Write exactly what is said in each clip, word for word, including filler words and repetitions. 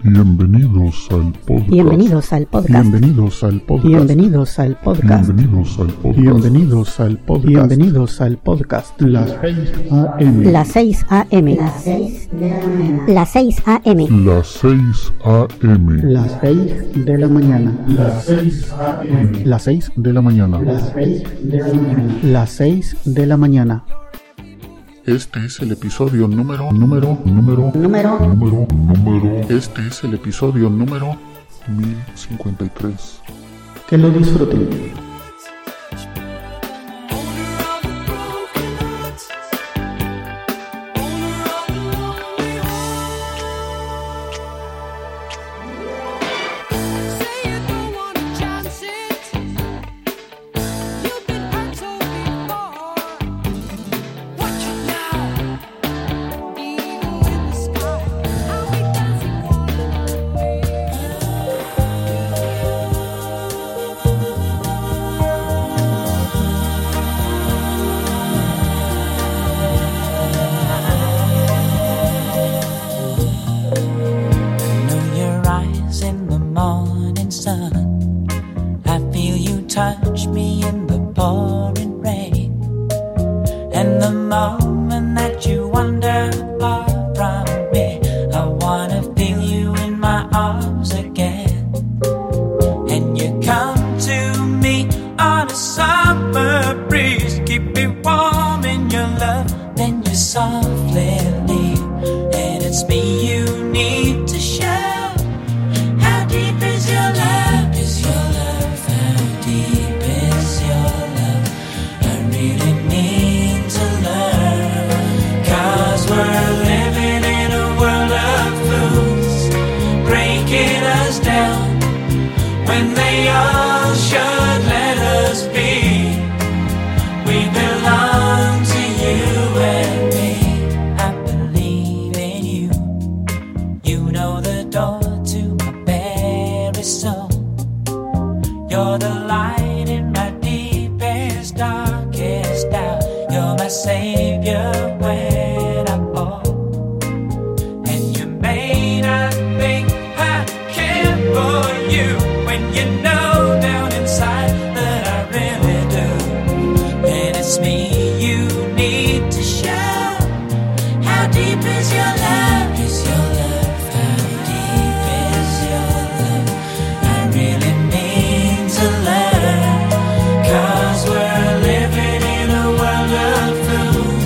Bienvenidos al podcast. Bienvenidos al podcast. Bienvenidos al podcast. Bienvenidos al podcast. Bienvenidos al podcast. Bienvenidos al podcast. Bienvenidos al podcast. Las seis a eme. Las seis a eme. Las seis de la mañana. Las seis a eme. Las seis a eme. Las seis de la mañana. Las seis a eme. Las seis de la mañana. Las seis de la mañana. Las seis de la mañana. Este es el episodio número, número, número, Número. número, número. Este es el episodio número mil cincuenta y tres. Que lo disfruten. Touch me in the pouring rain, and the moment that you wander far from me, I wanna feel you in my arms again. And you come to me on a summer breeze, keep me warm in your love, then you softly leave, and it's me you need to show. How deep is your love? Is your love? How deep is your love? I really need to learn, 'cause we're living in a world of fools, breaking us down when they all should let us be. We belong to you and me. I believe in you. You know the door to my very soul. You're the light in my deepest, darkest doubt. You're my savior when I fall. And you may not think I care for you, when you know down inside that I really do. And it's me you need to show. How deep is your love? Is your love? How deep is your love? I really need to learn, 'cause we're living in a world of fools,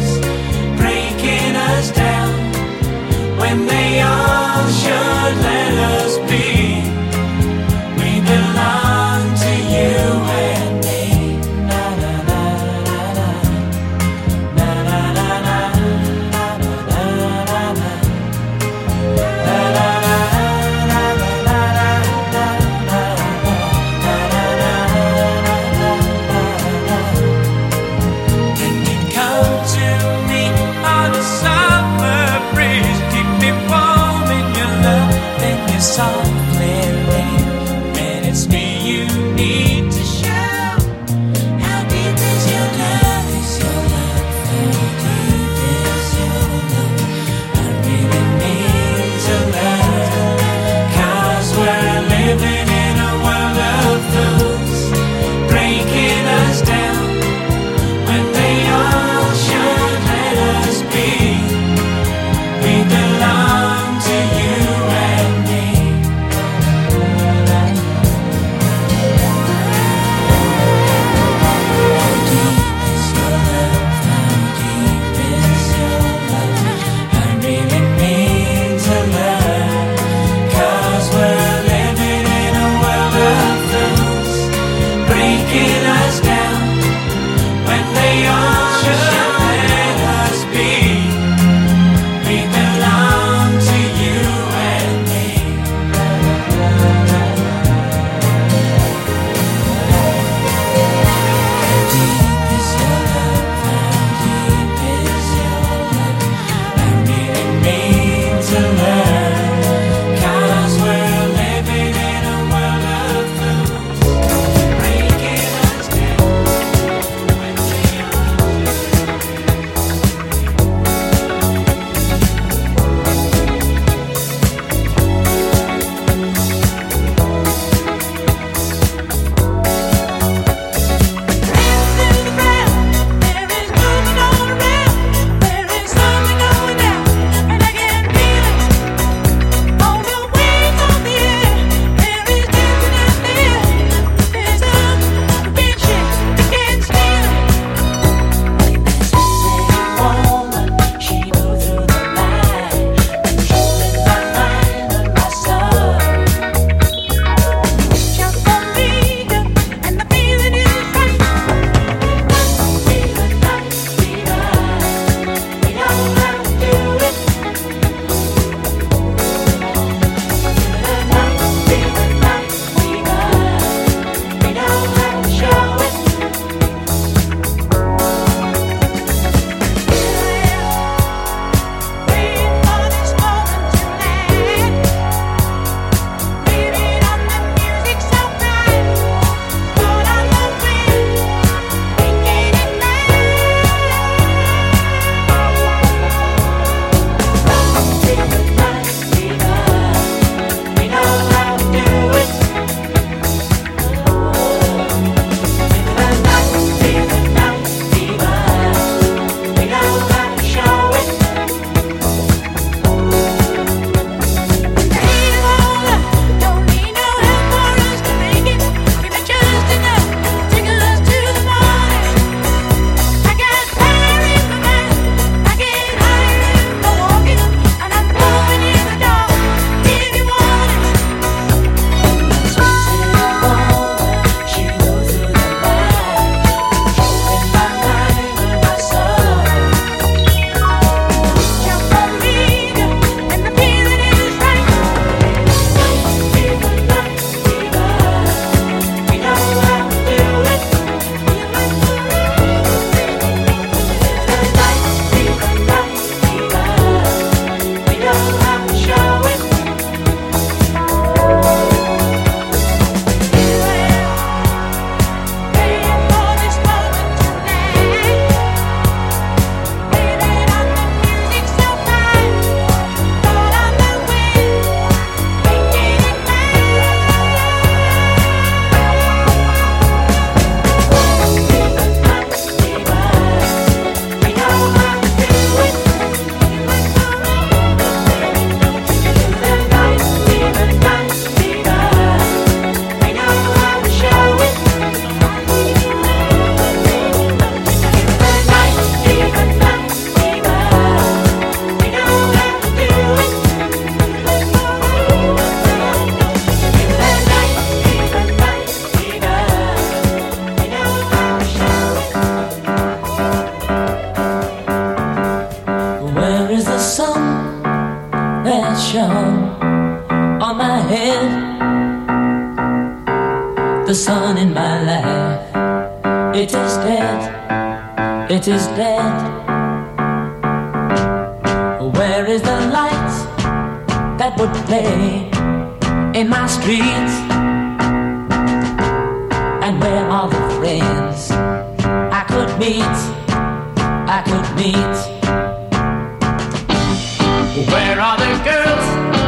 The sun in my life, it is dead, it is dead. Where is the light that would play in my streets? And where are the friends I could meet, I could meet? Where are the girls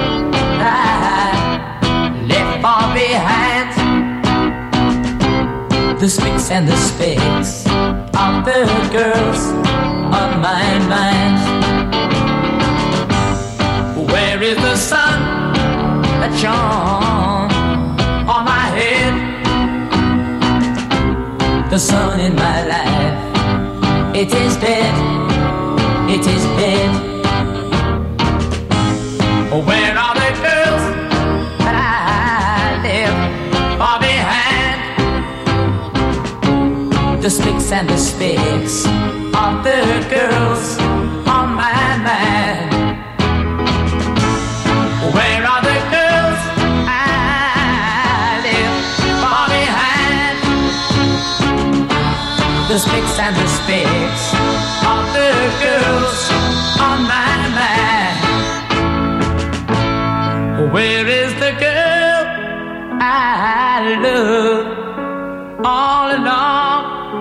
I left far behind? The spicks and the specks of the girls on my mind. Where is the sun that shone on my head? The sun in my life, it is dead, it is dead. Where are the girls that I left far behind? The spicks and the specks of the girls on my mind. Where are the girls I left far behind? The spicks and the specks of the girls on my mind. Where is the girl I love all along?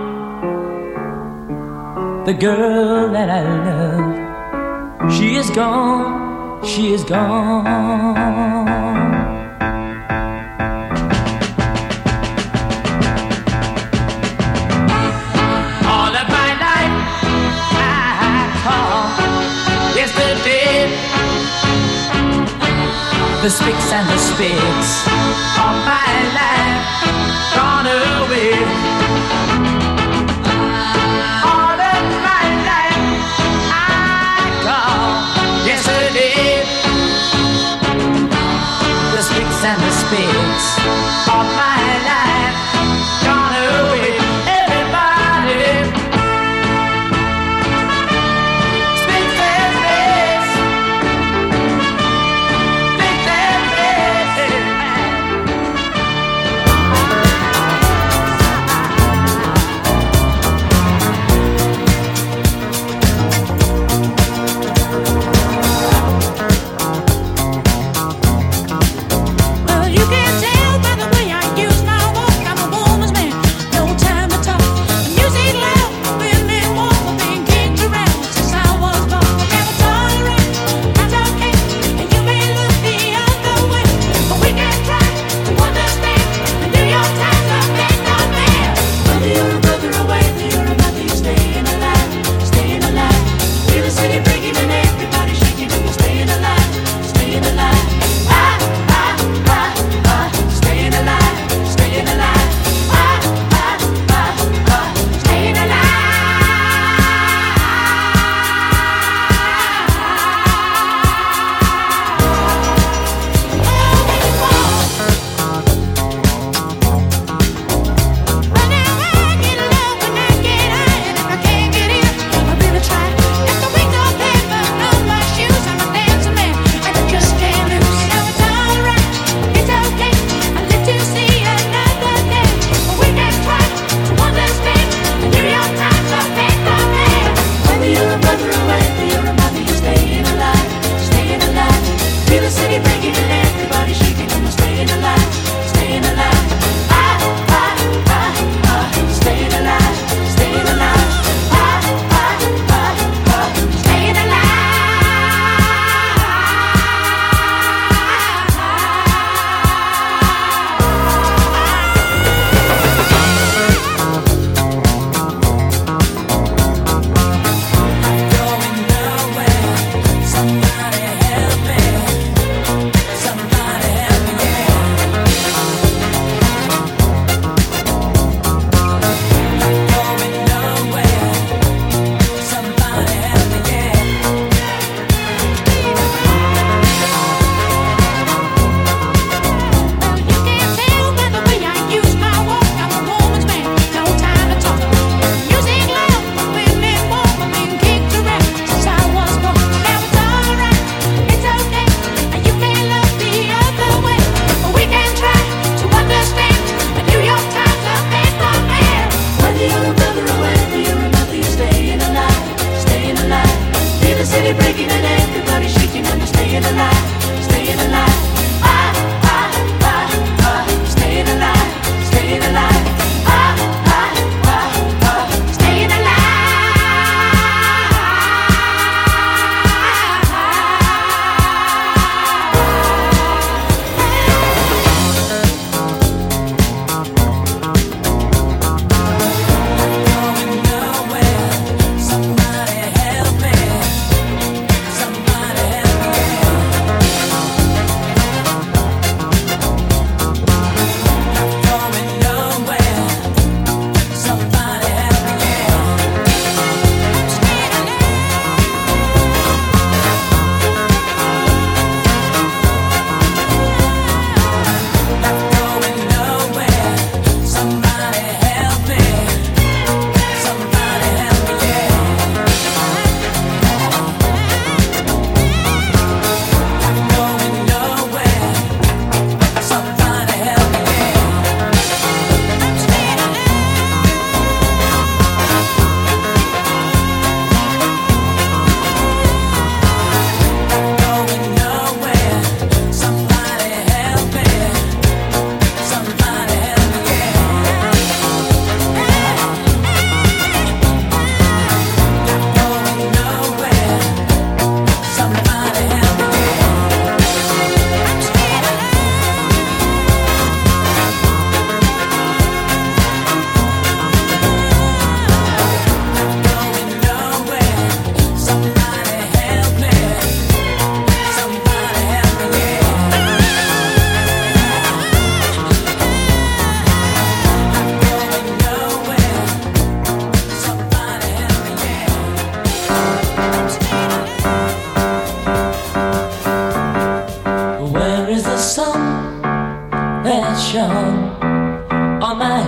The girl that I love, she is gone, she is gone. All of my life I call yesterday. The spicks and the specks of my life gone away. All of my life I call yesterday. The spicks and the specks of my life gone away. Everybody, spicks and specks.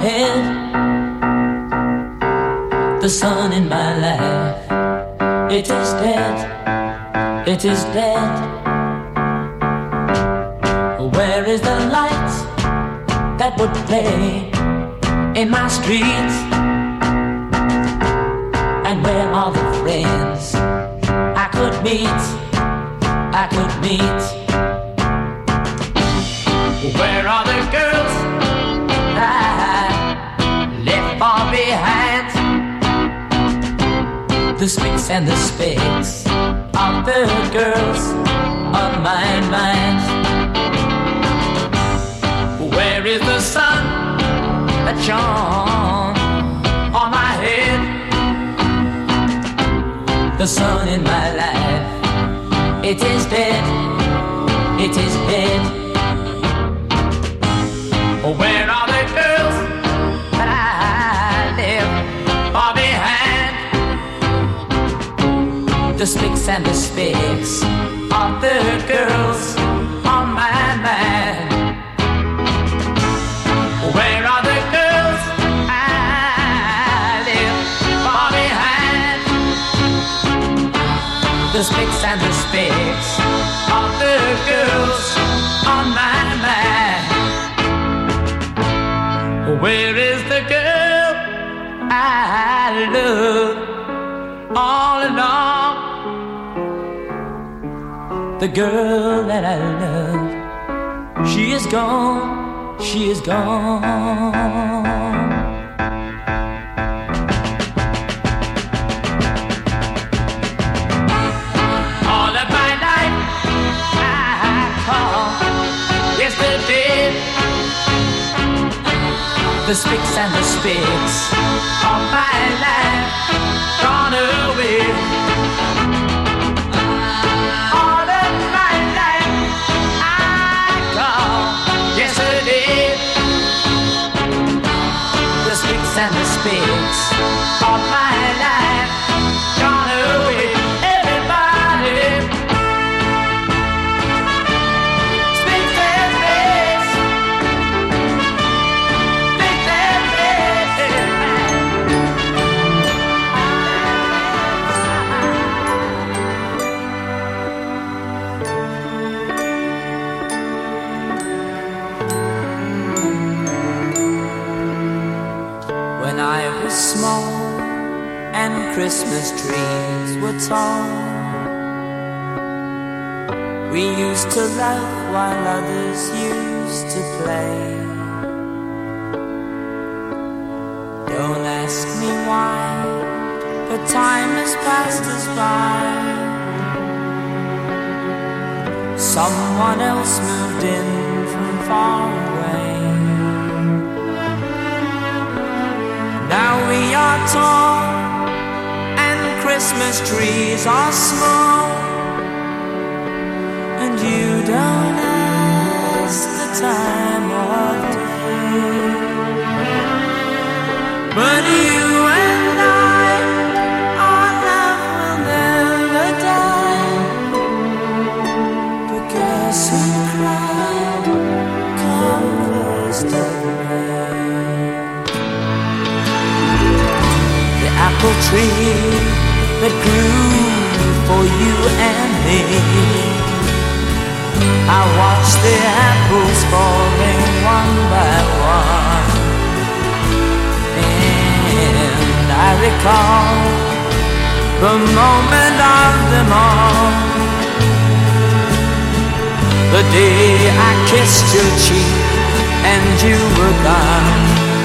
head. The sun in my life, it is dead, it is dead. Where is the light that would play in my streets? And where are the friends I could meet, I could meet? Where are the girls I left far behind? The spicks and the specks of the girls on my mind. Where is the sun that shone on my head? The sun in my life, it is dead, it is dead. Where are the girls that I left far behind? The spicks and the specks of the girls on my mind. Where are the girls I left far behind? The spicks and the specks of the girls on my mind. Where is the girl I loved all along? The girl that I loved, she is gone, she is gone. All of my life I call yesterday. The spicks and the spicks of my life gone away. All of my life I call yesterday. The spicks and the spicks of my life gone away. Everybody, spicks and spicks. When I was small and Christmas trees were tall, we used to laugh while others used to play. Don't ask me why, but time has passed us by. Someone else moved in from far away. Now we are tall and Christmas trees are small, and you don't ask the time of day. But you and I, our love will never die. But guess who cried come first of May? The apple tree that grew for you and me. I watched the apples falling one by one, and I recall the moment of them all, the day I kissed your cheek and you were gone.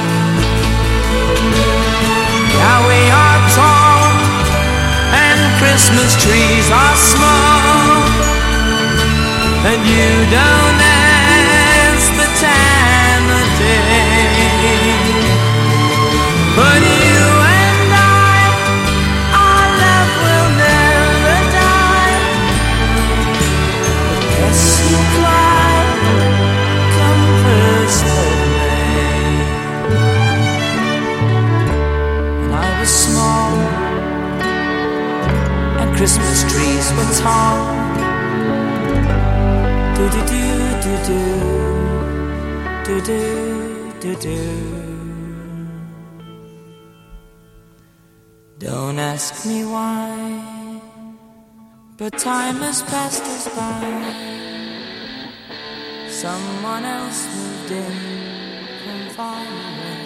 Now we are tall and Christmas trees are small, and you don't ask the time of day. But you and I, our love will never die. But guess who cried come first of May? When I was small and Christmas trees were tall, do do do do do do do do do. Don't ask me why, but time has passed us by. Someone else moved in from far away.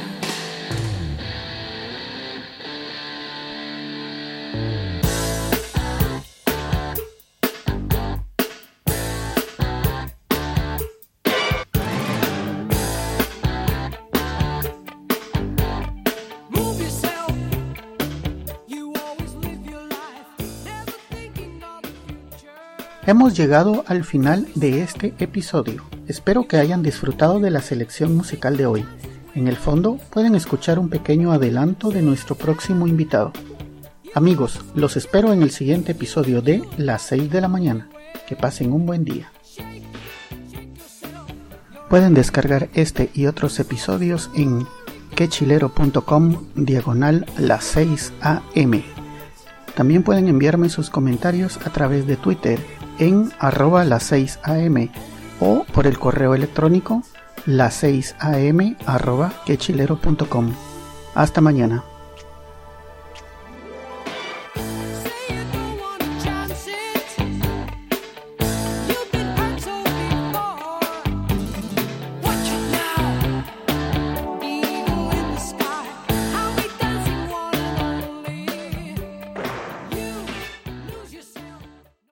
Hemos llegado al final de este episodio. Espero que hayan disfrutado de la selección musical de hoy. En el fondo pueden escuchar un pequeño adelanto de nuestro próximo invitado. Amigos, los espero en el siguiente episodio de Las seis de la mañana. Que pasen un buen día. Pueden descargar este y otros episodios en quechilero.com diagonal las seis a m. También pueden enviarme sus comentarios a través de Twitter en arroba las seis a m o por el correo electrónico las seis a m arroba quechilero punto com. Hasta mañana.